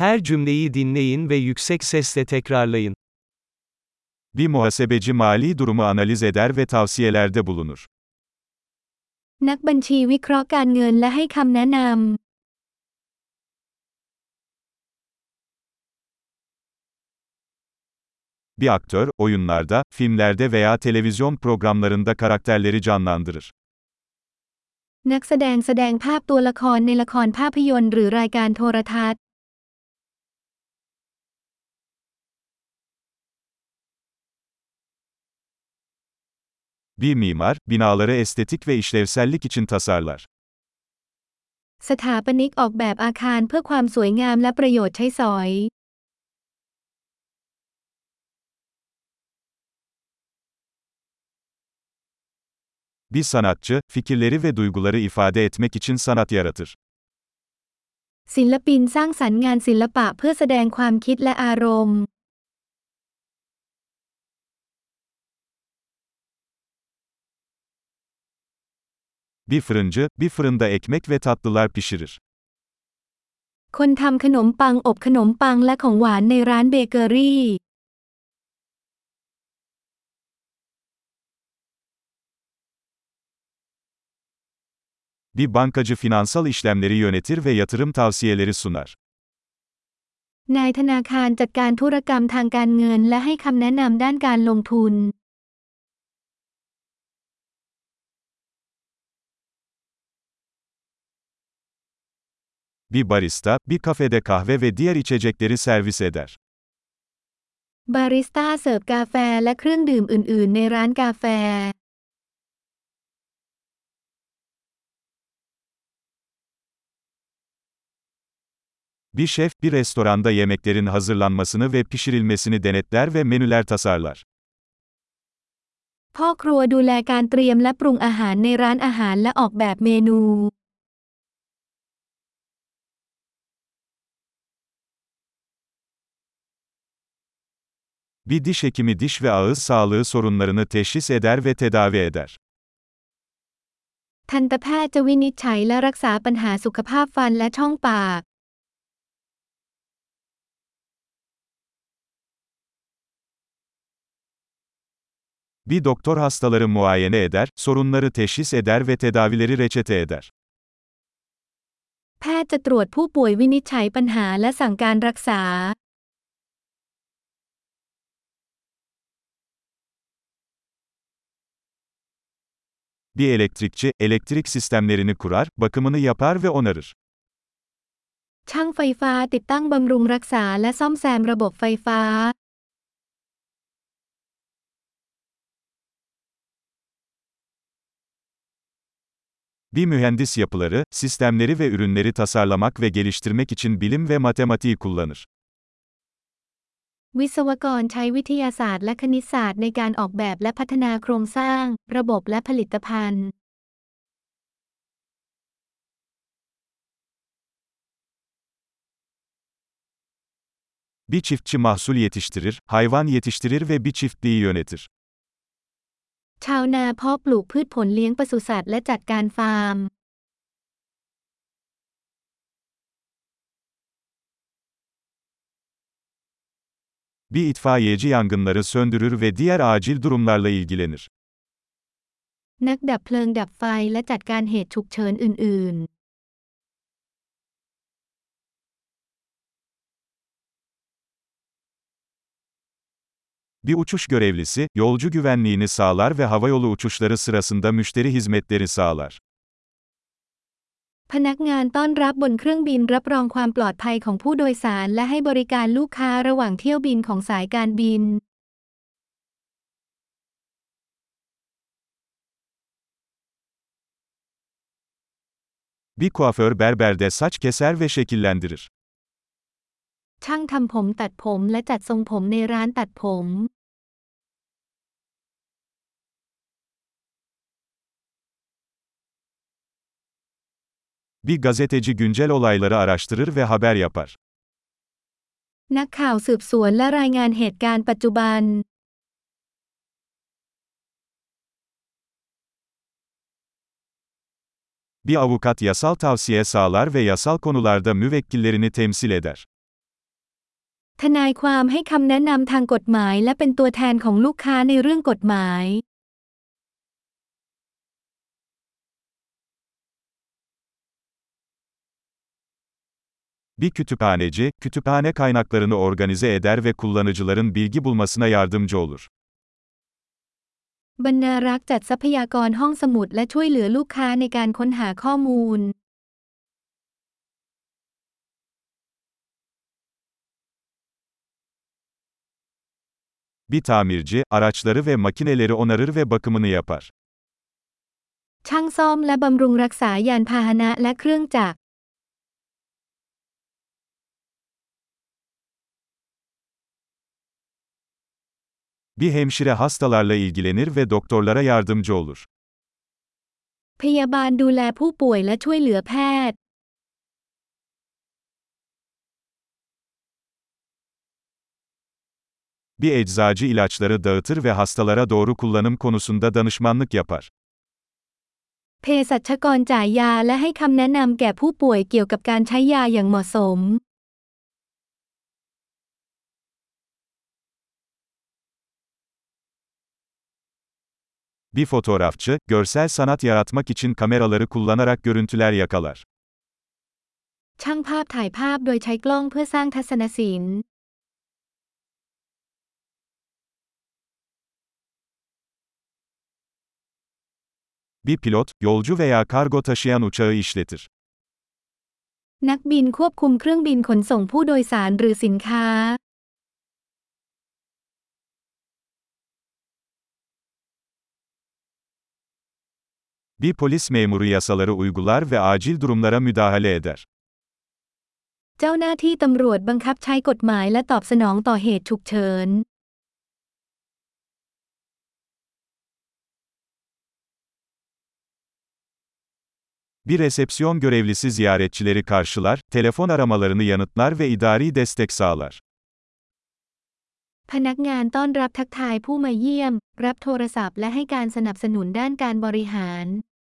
Her cümleyi dinleyin ve yüksek sesle tekrarlayın. Bir muhasebeci mali durumu analiz eder ve tavsiyelerde bulunur. นักบัญชีวิเคราะห์การเงินและให้คำแนะนำ Bir aktör, oyunlarda, filmlerde veya televizyon programlarında karakterleri canlandırır. นักแสดงแสดงภาพตัวละครในละครภาพยนตร์หรือรายการโทรทัศน์ Bir mimar, binaları estetik ve işlevsellik için tasarlar. สถาปนิกออกแบบอาคารเพื่อความสวยงามและประโยชน์ใช้สอย Bir sanatçı, fikirleri ve duyguları ifade etmek için sanat yaratır. ศิลปินสร้างสรรค์งานศิลปะเพื่อแสดงความคิดและอารมณ์ Bir fırıncı, bir fırında ekmek ve tatlılar pişirir. คนทำขนมปังอบขนมปังและของหวานในร้านเบเกอรี่ Bir bankacı finansal işlemleri yönetir ve yatırım tavsiyeleri sunar. นายธนาคารจัดการธุรกรรมทางการเงินและให้คำแนะนำด้านการลงทุน Bir barista, bir kafede kahve ve diğer içecekleri servis eder. บาริสต้าเสิร์ฟกาแฟและเครื่องดื่มอื่นๆในร้านกาแฟ Bir şef, bir restoranda yemeklerin hazırlanmasını ve pişirilmesini denetler ve menüler tasarlar. พ่อครัวดูแลการเตรียมและปรุงอาหารในร้านอาหารและออกแบบเมนู Bir diş hekimi diş ve ağız sağlığı sorunlarını teşhis eder ve tedavi eder. ทันตแพทย์จะวินิจฉัยและรักษาปัญหาสุขภาพฟันและช่องปาก Bir doktor hastaları muayene eder, sorunları teşhis eder ve tedavileri reçete eder. แพทย์จะตรวจผู้ป่วยวินิจฉัยปัญหาและสั่งการรักษา Bir elektrikçi, elektrik sistemlerini kurar, bakımını yapar ve onarır. ช่างไฟฟ้าติดตั้งบำรุงรักษาและซ่อมแซมระบบไฟฟ้า Bir mühendis yapıları, sistemleri ve ürünleri tasarlamak ve geliştirmek için bilim ve matematiği kullanır. วิศวกรใช้วิทยาศาสตร์และคณิตศาสตร์ในการออกแบบและพัฒนาโครงสร้าง ระบบและผลิตภัณฑ์ Bir çiftçi mahsul yetiştirir, hayvan yetiştirir ve bir çiftliği yönetir. ชาวนาเพาะปลูกพืชผลเลี้ยงปศุสัตว์และจัดการฟาร์ม Bir itfaiyeci yangınları söndürür ve diğer acil durumlarla ilgilenir. นักดับเพลิงดับไฟและจัดการเหตุฉุกเฉินอื่น Bir uçuş görevlisi, yolcu güvenliğini sağlar ve havayolu uçuşları sırasında müşteri hizmetleri sağlar. ๆ พนักงานต้อนรับบนเครื่องบินรับรองความปลอดภัยของผู้โดยสารและให้บริการลูกค้าระหว่างเที่ยวบินของสายการบิน Bir kuaför berberde saç keser ve şekillendirir. ช่างทำผมตัดผมและจัดทรงผมในร้านตัดผม Bir gazeteci güncel olayları araştırır ve haber yapar. นักข่าวสืบสวนและรายงานเหตุการณ์ปัจจุบัน Bir avukat yasal tavsiye sağlar ve yasal konularda müvekkillerini temsil eder. ทนายความให้คำแนะนำทางกฎหมายและเป็นตัวแทนของลูกค้าในเรื่องกฎหมาย Bir kütüphaneci, kütüphane kaynaklarını organize eder ve kullanıcıların bilgi bulmasına yardımcı olur. บรรณารักษ์จัดทรัพยากรห้องสมุดและช่วยเหลือลูกค้าในการค้นหาข้อมูล Bir tamirci, araçları ve makineleri onarır ve bakımını yapar. ช่างซ่อมและบำรุงรักษายานพาหนะและเครื่องจักร Bir hemşire hastalarla ilgilenir ve doktorlara yardımcı olur. พยาบาลดูแลผู้ป่วยและช่วยเหลือแพทย์ Bir eczacı ilaçları dağıtır ve hastalara doğru kullanım konusunda danışmanlık yapar. เภสัชกรจ่ายยาและให้คำแนะนำแก่ผู้ป่วยเกี่ยวกับการใช้ยาอย่างเหมาะสม Bir fotoğrafçı, görsel sanat yaratmak için kameraları kullanarak görüntüler yakalar. ช่างภาพถ่ายภาพโดยใช้กล้องเพื่อสร้างทัศนศิลป์ Bir pilot, yolcu veya kargo taşıyan uçağı işletir. นักบินควบคุมเครื่องบินขนส่งผู้โดยสารหรือสินค้า Bir polis memuru yasaları uygular ve acil durumlara müdahale eder. เจ้าหน้าที่ตำรวจบังคับใช้กฎหมายและตอบสนองต่อเหตุฉุกเฉิน Bir resepsiyon görevlisi ziyaretçileri karşılar, telefon aramalarını yanıtlar ve idari destek sağlar. พนักงานต้อนรับทักทายผู้มาเยี่ยม รับโทรศัพท์และให้การสนับสนุนด้านการบริหาร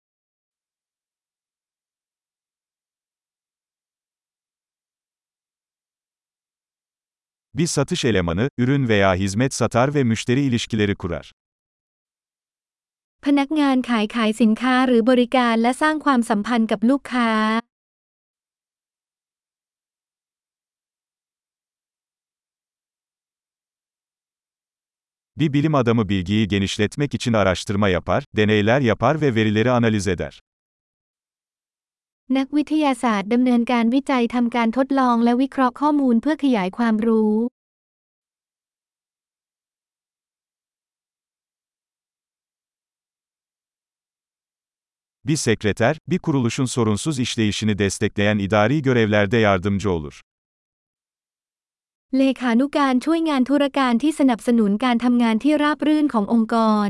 Bir satış elemanı, ürün veya hizmet satar ve müşteri ilişkileri kurar. พนักงานขายสินค้าหรือบริการและสร้างความสัมพันธ์กับลูกค้า Bir bilim adamı bilgiyi genişletmek için araştırma yapar, deneyler yapar ve verileri analiz eder. นักวิทยาศาสตร์ดำเนินการวิจัยทำการทดลองและวิเคราะห์ข้อมูลเพื่อขยายความรู้ Bir sekreter, bir kuruluşun sorunsuz işleyişini destekleyen idari görevlerde yardımcı olur. เลขานุการช่วยงานธุรการที่สนับสนุนการทำงานที่ราบรื่นขององค์กร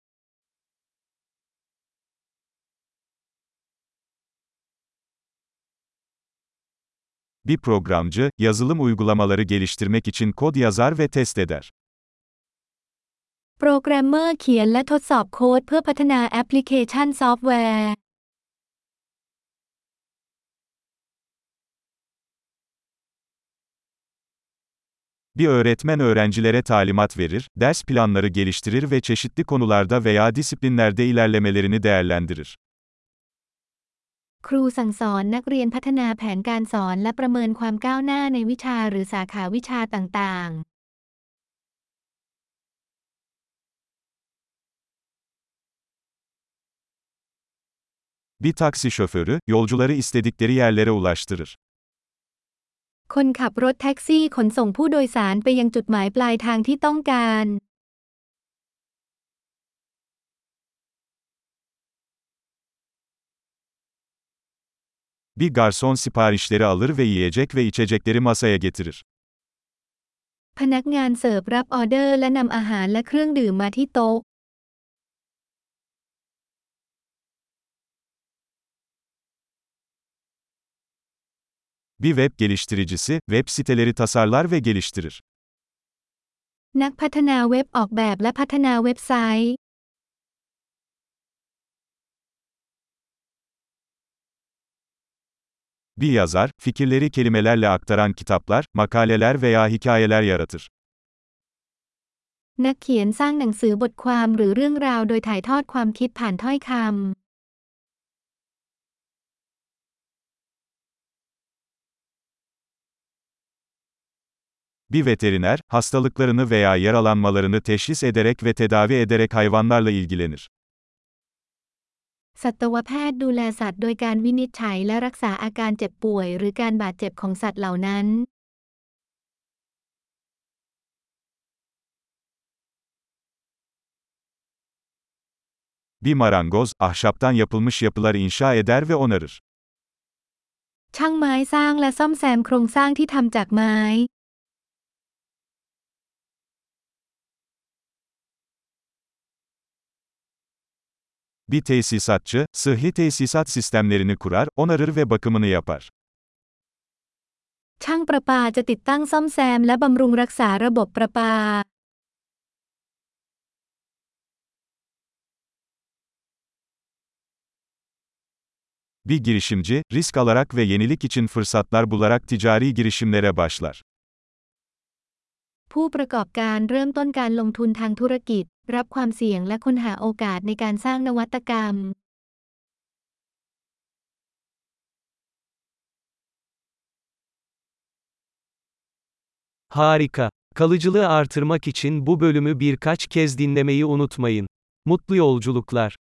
Bir programcı, yazılım uygulamaları geliştirmek için kod yazar ve test eder. โปรแกรมเมอร์เขียนและทดสอบโค้ดเพื่อพัฒนาแอปพลิเคชันซอฟต์แวร์ Bir öğretmen öğrencilere talimat verir, ders planları geliştirir ve çeşitli konularda veya disiplinlerde ilerlemelerini değerlendirir. ครูสั่งสอนนักเรียนพัฒนาแผนการสอนและประเมินความก้าวหน้าในวิชาหรือสาขาวิชาต่างๆ Bir taksi şoförü, yolcuları istedikleri yerlere ulaştırır. คนขับรถแท็กซี่ขนส่งผู้โดยสารไปยังจุดหมายปลายทางที่ต้องการ Bir garson siparişleri alır ve yiyecek ve içecekleri masaya getirir. พนักงานเสิร์ฟรับออเดอร์และนำอาหารและเครื่องดื่มมาที่โต๊ะ Bir web geliştiricisi, web siteleri tasarlar ve geliştirir. นักพัฒนาเว็บออกแบบและพัฒนาเว็บไซต์ Bir yazar, fikirleri kelimelerle aktaran kitaplar, makaleler veya hikayeler yaratır. นักเขียนสร้างหนังสือบทความหรือเรื่องราวโดยถ่ายทอดความคิดผ่านถ้อยคำ Bir veteriner, hastalıklarını veya yaralanmalarını teşhis ederek ve tedavi ederek hayvanlarla ilgilenir. สัตวแพทย์ดูแลสัตว์โดยการวินิจฉัยและรักษาอาการเจ็บป่วยหรือการบาดเจ็บของสัตว์เหล่านั้น Bir marangoz, ahşaptan yapılmış yapılar inşa eder ve onarır. ช่างไม้สร้างและซ่อมแซมโครงสร้างที่ทำจากไม้ Bir tesisatçı, sıhhi tesisat sistemlerini kurar, onarır ve bakımını yapar. ช่างประปาจะติดตั้งซ่อมแซมและบำรุงรักษาระบบประปา Bir girişimci, risk alarak ve yenilik için fırsatlar bularak ticari girişimlere başlar. ผู้ประกอบการเริ่มต้นการลงทุนทางธุรกิจรับความเสี่ยงและค้นหาโอกาสในการสร้างนวัตกรรม Harika. Kalıcılığı artırmak için bu bölümü birkaç kez dinlemeyi unutmayın. Mutlu yolculuklar.